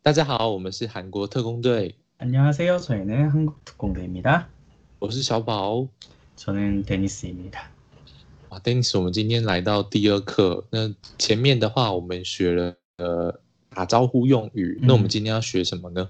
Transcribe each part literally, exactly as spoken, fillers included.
大家好，我们是韓國特攻隊。 안녕하세요. 저희는 한국특공대입니다. 我是小寶。 저는 데니스입니다. 哇 Dennis， 我們今天來到第二課。那前面的話，我們學了呃打招呼用語。那我們今天要學什麼呢？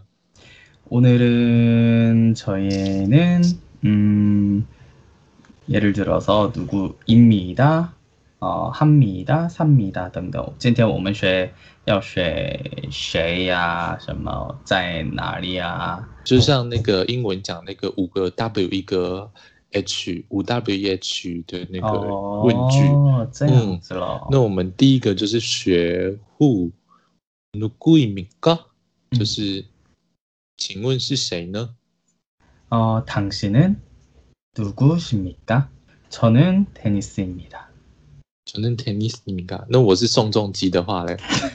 오늘은 저희는 음, 예를 들어서 누구입니다, 어, 합니다, 삽니다等等。今天我們學要學誰呀、什麼在哪裡呀？ 就像那個英文講那個五個 W 一個 H 五 W 一 H 的那個問句。 哦，這樣子咯、 嗯。那我們第一個就是學 Who 누구입니까？就是請問是誰呢？ 어, 당신은 누구십니까? 저는 데니스입니다. 저는 데니스입니다. 那我是宋仲基的話嘞？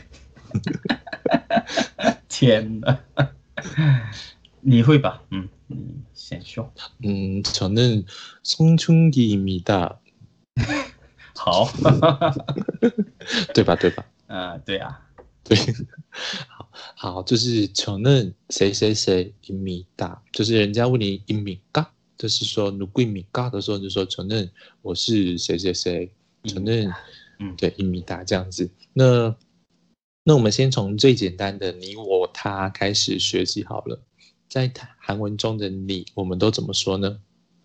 天哪！你会吧？嗯，你先說。 嗯，저는 송중기입니다. 好， 對吧？對吧？ 呃，對啊， 對，好，好，就是저는誰誰誰입니다，就是人家問你입니까，就是說누구입니까的時候，就說저는我是誰誰誰，저는嗯，對입니다這樣子。那那我們先從最簡單的你我他開始學習好了。在韓文中的你，我們都怎麼說呢？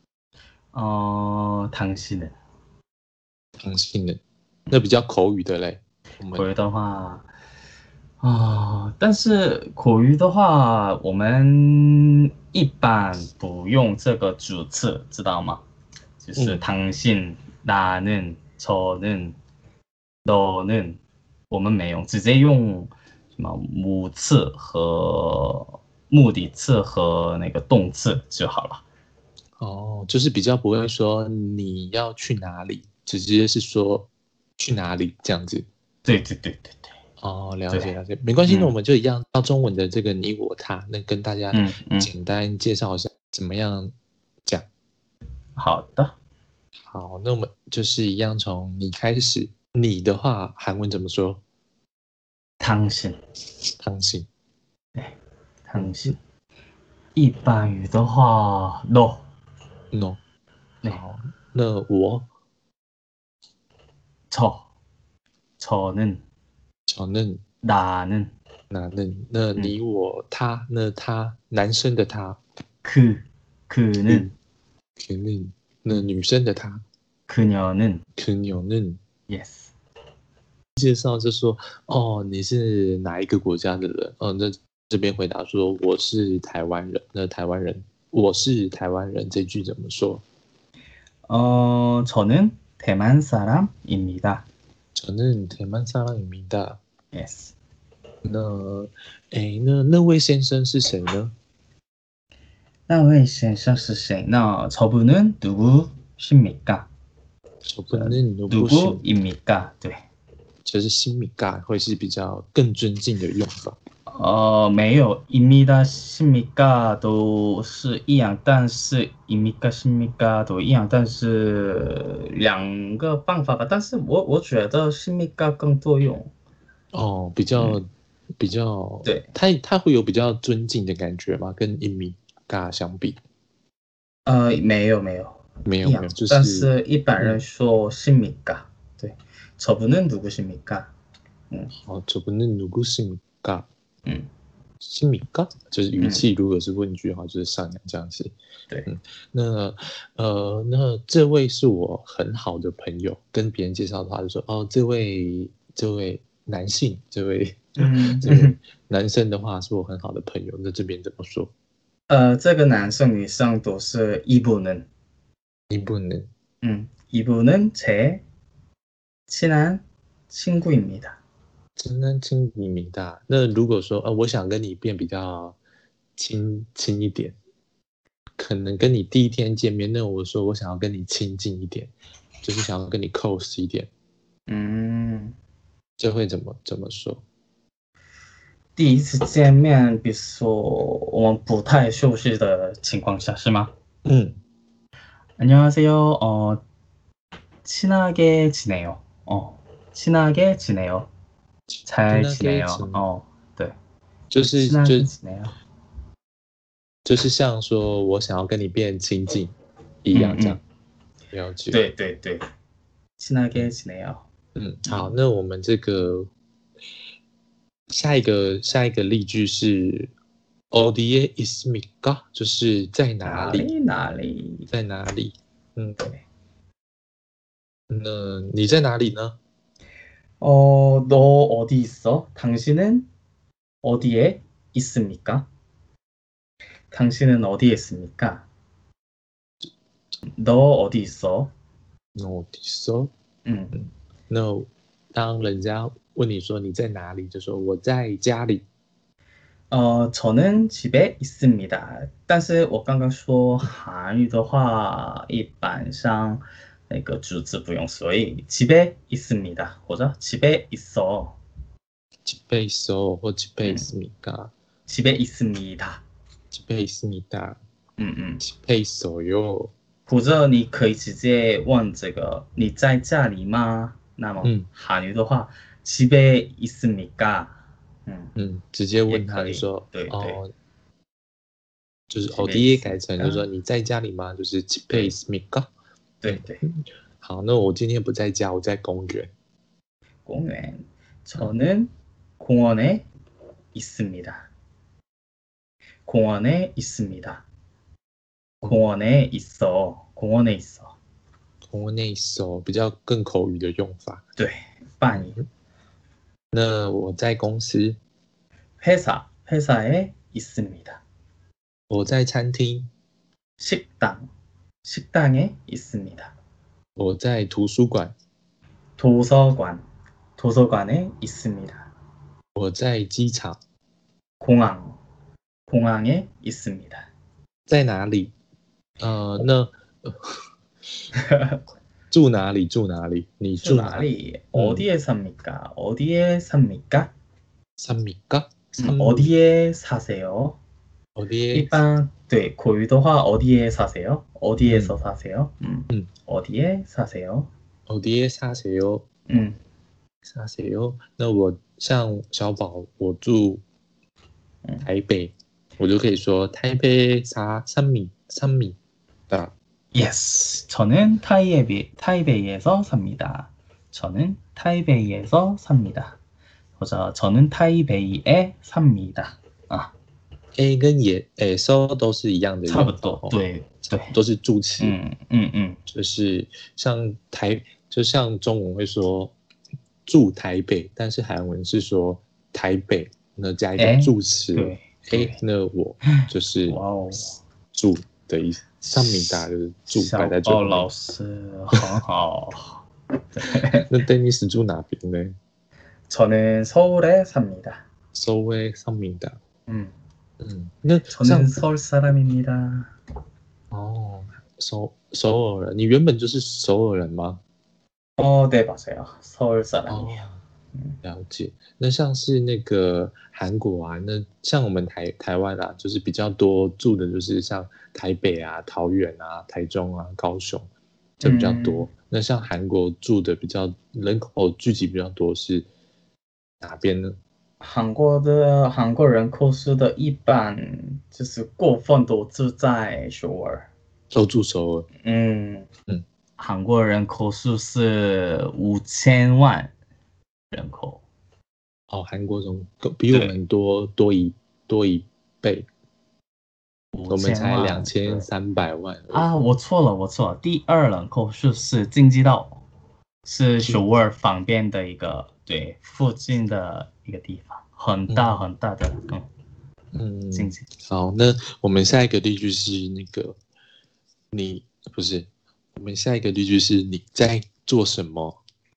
哦、呃，당신은， 당신은，那比較口語的嘞。 口語的話，啊、呃，但是口語的話，我們一般不用這個主詞，知道嗎？就是당신、나는、저는、너는，我們沒有，直接用什麼母詞和目的詞和那個動詞就好了。 哦，就是比較不會說你要去哪裡，直接是說去哪裡這樣子。 對對對對對。 哦，了解了解，沒關係，那我們就一樣到中文的這個你我他，那跟大家簡單介紹一下怎麼樣講。 好的。 好，那我們就是一樣從你開始。你的話韓文怎麼說？ 당신。 당신。 對，당신。一般語的話 no no。好，那我 저 저는 저는 나는 나는。那你我他，那他男生的他 그 그는 그는。那女生的她 그녀는 그녀는。 yes。 介紹就說哦，你是哪一個國家的人？哦，那這邊回答說我是台灣人。那台灣人，我是台灣人這句怎麼說？ 哦，저는 대만 사람입니다. 저는 대만 사람입니다. yes。 那哎，那那位先生是誰呢？ 那位先生是誰？那저분은 누구십니까？ 저분은 누구입니까？ 對。 就是십니까會是比較更尊敬的用法。 呃，沒有입니다 십니까都是一樣，但是입니까 십니까都一樣，但是兩個辦法吧。但是我我覺得십니까更多用。 哦，比較、嗯、比較，對，它它會有比較尊敬的感覺嗎？跟입니까相比？ 呃，沒有沒有沒有沒有，就是但是一般人說십니까、嗯。對。저분은 누구십니까？ 嗯， 好，저분은 누구십니까？ 嗯， 십니까？就是語氣，如果是問句的話，嗯、就是上揚這樣子。 對， 嗯，那呃，那這位是我很好的朋友，跟別人介紹的話就說，哦，這位這位男性，這位嗯，這位男生的話是我很好的朋友，那這邊怎麼說？ 呃，這個男生女生都是이분은， 이분은， 嗯，이분은 제 친한 친구입니다. 친한 친구입니다. 那如果說，呃，我想跟你變比較親親一點，可能跟你第一天見面，那我說我想要跟你親近一點，就是想要跟你 close 一點， 嗯， 這會怎麼怎麼說？ 第一次見面，比如說我們不太熟悉的情況下，是嗎？嗯。안녕하세요. 어, 친하게 지내요. 어, 친하게 지내요. 잘 지내요. 어, 對。 就是就就是像說我想要跟你變親近一樣這樣。嗯嗯、了解。 對對對。친하게 지내요。 嗯，好，那我們這個下一個下一個例句是어디에 있습니까？就是在哪裡？ 哪裡？哪裡？ 在哪裡？嗯，对。那你在哪裡呢？ 어, 너 어디 있어? 당신은 어디에 있습니까? 당신은 어디에 있습니까? 너 어디 있어? 너 어디 있어? 嗯， 那当人家問你說你在哪裡，就說我在家裡。 어, 저는 집에 있습니다. 但是我刚刚说韓語的話一般上那個主詞不用，所以집에 있습니다或者집에 있어。 집에 있어或집에 있습니까? 집에 있습니다。 집에 있습니다。 嗯嗯 집에 있어요。 或者你可以直接問這個你在家裡嗎？那麼韓語的話、嗯、집에 있습니까？ 嗯嗯，直接問他就說， 對對， 哦，就是 어디에改成就是說你在家裡嗎？就是 집에 있습니까？ 對對。 好，那我今天不在家，我在公園。 公園。저는 공원에 있습니다. 공원에 있습니다. 공원에 있어. 공원에 있어. 공원에 있어比較更口語的用法。 對，翻譯。 那我在公司。 회사, 회사에 있습니다. 我在餐廳。 식당, 식당에 있습니다. 我在圖書館。 도서관, 도서관에 있습니다. 我在機場。 공항, 공항에 있습니다. 在哪裡？呃，那住哪裡？住哪裡？你住哪裡？ 어디에 삽니까? 어디에 삽니까? 삽니까? 음, 어디에 사세요? 어디에? 일반 네, 고유도화 어디에 사세요? 어디에서 음. 사세요? 음. 음. 어디에 사세요? 어디에 사세요? 음. 사세요? 那我像小寶，我住台北，嗯、我就可以說台北사 삼미 삽니다. Yes, 저는 타이베이 타이베이에서 삽니다. 저는 타이베이에서 삽니다. 或者 저는 타이베이에 삽니다. 啊 A 跟也 에서 都是一樣的， 差不多，對對， 都是助詞。 嗯嗯嗯， 就是像台，就像中文會說住台北，但是韓文是說台北，那加一個助詞。對 A 那我就是住的意思。上米達就是住擺在最後面。小寶老師很好。那 Dennis 住哪邊呢？ 저는 서울에 삽니다. 서울에 삽니다. 음. 음. 저는 서울 사람입니다. 어, 서, 首爾人，你原本就是首爾人嗎？ 어, 네, 맞아요. 서울 사람이에요. 哦，了解。那像是那個韓國啊，那像我們台台灣啊，就是比較多住的，就是像台北啊、桃園啊、台中啊、高雄，這比較多。嗯、那像韓國住的比較人口聚集比較多是哪邊呢？ 韓國的韓國人口數的一般就是過分都住在首爾， 都住首爾。 嗯嗯，韓國人口數是五千萬人口。 哦，韓國人比我們多多一多一倍，我們才兩千三百萬啊！ 我錯了，我錯了，第二人口數是京畿道，是首爾旁邊的一個，對，附近的一個地方，很大很大的，嗯嗯， 京畿。 好，那我們下一個例句是那個你不是，我們下一個例句是你在做什麼？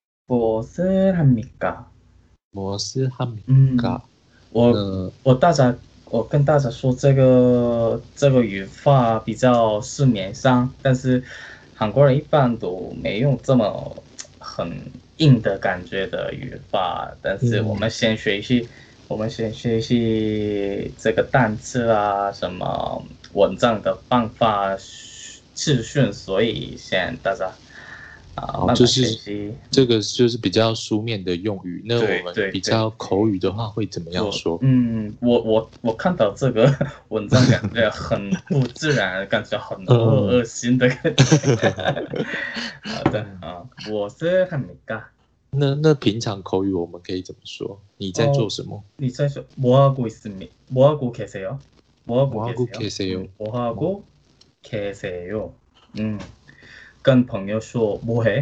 무엇을 합니까？ 摩斯哈米嘎， 我、呃、我大家我跟大家說這個這個語法比較市面上，但是韓國人一般都沒有這麼很硬的感覺的語法，但是我們先學習、嗯、我們先學習這個單詞啊，什麼文章的方法資訊，所以先大家啊， 好，就是這個就是比較書面的用語。那我們比較口語的話會怎麼樣說？ 嗯，我我我看到這個文章感覺很不自然，感覺很惡惡心的感覺。好的啊，我是합니까？ 那那平常口語我們可以怎麼說？你在做什麼？ 你在說뭐하고있습니까？뭐하고계세요？ 뭐하고계세요？ 뭐하고계세요？嗯，跟朋友說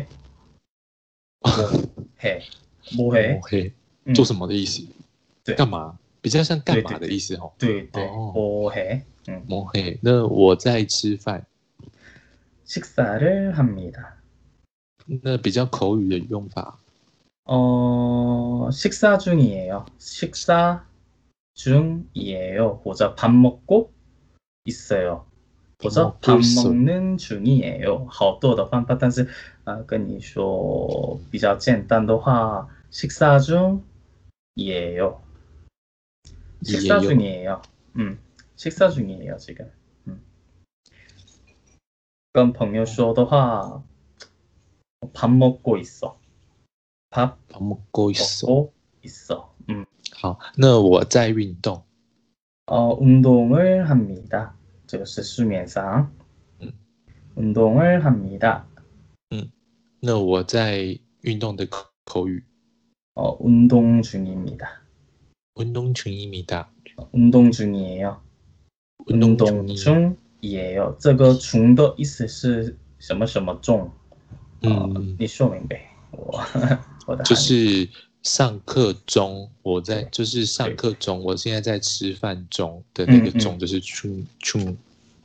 뭐해？뭐해？뭐해？ 뭐해？做什麼的意思？ 對， 幹嘛？比較像幹嘛的意思哦。 對對。뭐해？嗯 ，뭐해？那我在吃飯。 식사를합니다。 那比較口語的用法。 어, 식사 중이에요. 식사 중이에요. 或者밥 먹고 있어요. 或者밥 먹는 중이에요. 好多的方法，但是呃跟你说比较简单的话， 식사 중이에요. 식사 중이에요. 음, 식사 중이에요 지금. 음. 跟朋友说的话， 밥 먹고 있어. 밥, 밥 먹고 있어. 먹고 있어. 음. 好，那我在運動。 어, 운동을 합니다. 这个是市面上。 음. 운동을 합니다. 嗯，那我在運動的口口語。 어, 운동 중입니다. 운동 중입니다. 운동 중이에요. 운동 중이에요. 这个중的意思是什麼什麼中？嗯，你說明白。我就是上課中，我在就是上課中，我現在在吃飯中的那個中就是chung chung。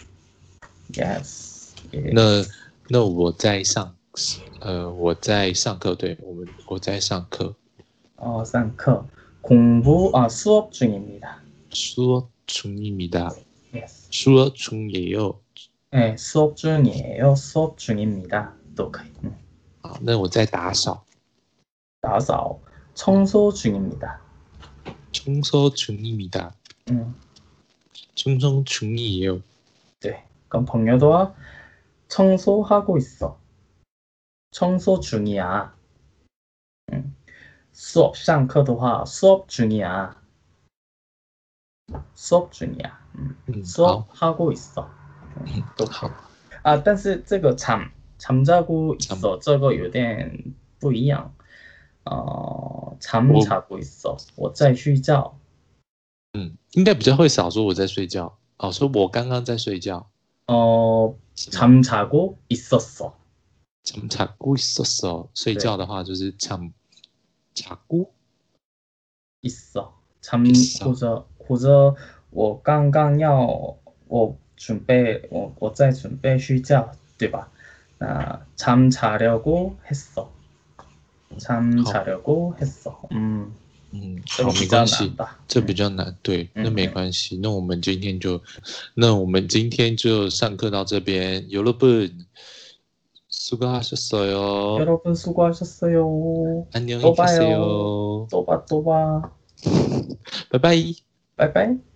Yes。 那那我在上呃我在上課，對我們我在上課。 哦，上課。공부 아 수업 중입니다. 수업 중입니다. Yes。 수업 중이에요. 네, 수업 중이에요. 수업 중입니다. 都可以。嗯。 好，那我在打掃。 打掃， 청소 중입니다. 청소 중입니다. 음. 청소 중이에요. 네, 그럼 동료도 청소하고 있어. 청소 중이야. 음. 수업 上課的話 수업 중이야. 수업 중이야. 음. 음, 수업하고 있어. 음, 都好。啊，但是这个잠 잠자고 있어 这個有點不一樣。呃，잠 자고 있어，我在睡覺。 嗯，應該比較會少說我在睡覺。哦，說我剛剛在睡覺。 哦，잠 자고 있었어。 잠 자고 있었어。睡覺的話就是잠 자고 있어。잠或者或者我剛剛要我準備我我在準備睡覺，對吧？那잠 자려고 했어。 잠 자려고 했어。 嗯嗯，好，沒關係，這比較難，對，那沒關係。那我們今天就，那我們今天就上課到這邊。여러분 수고하셨어요。 여러분 수고하셨어요。 안녕히 계세요。 또 봐，또 봐。 拜拜。 拜拜。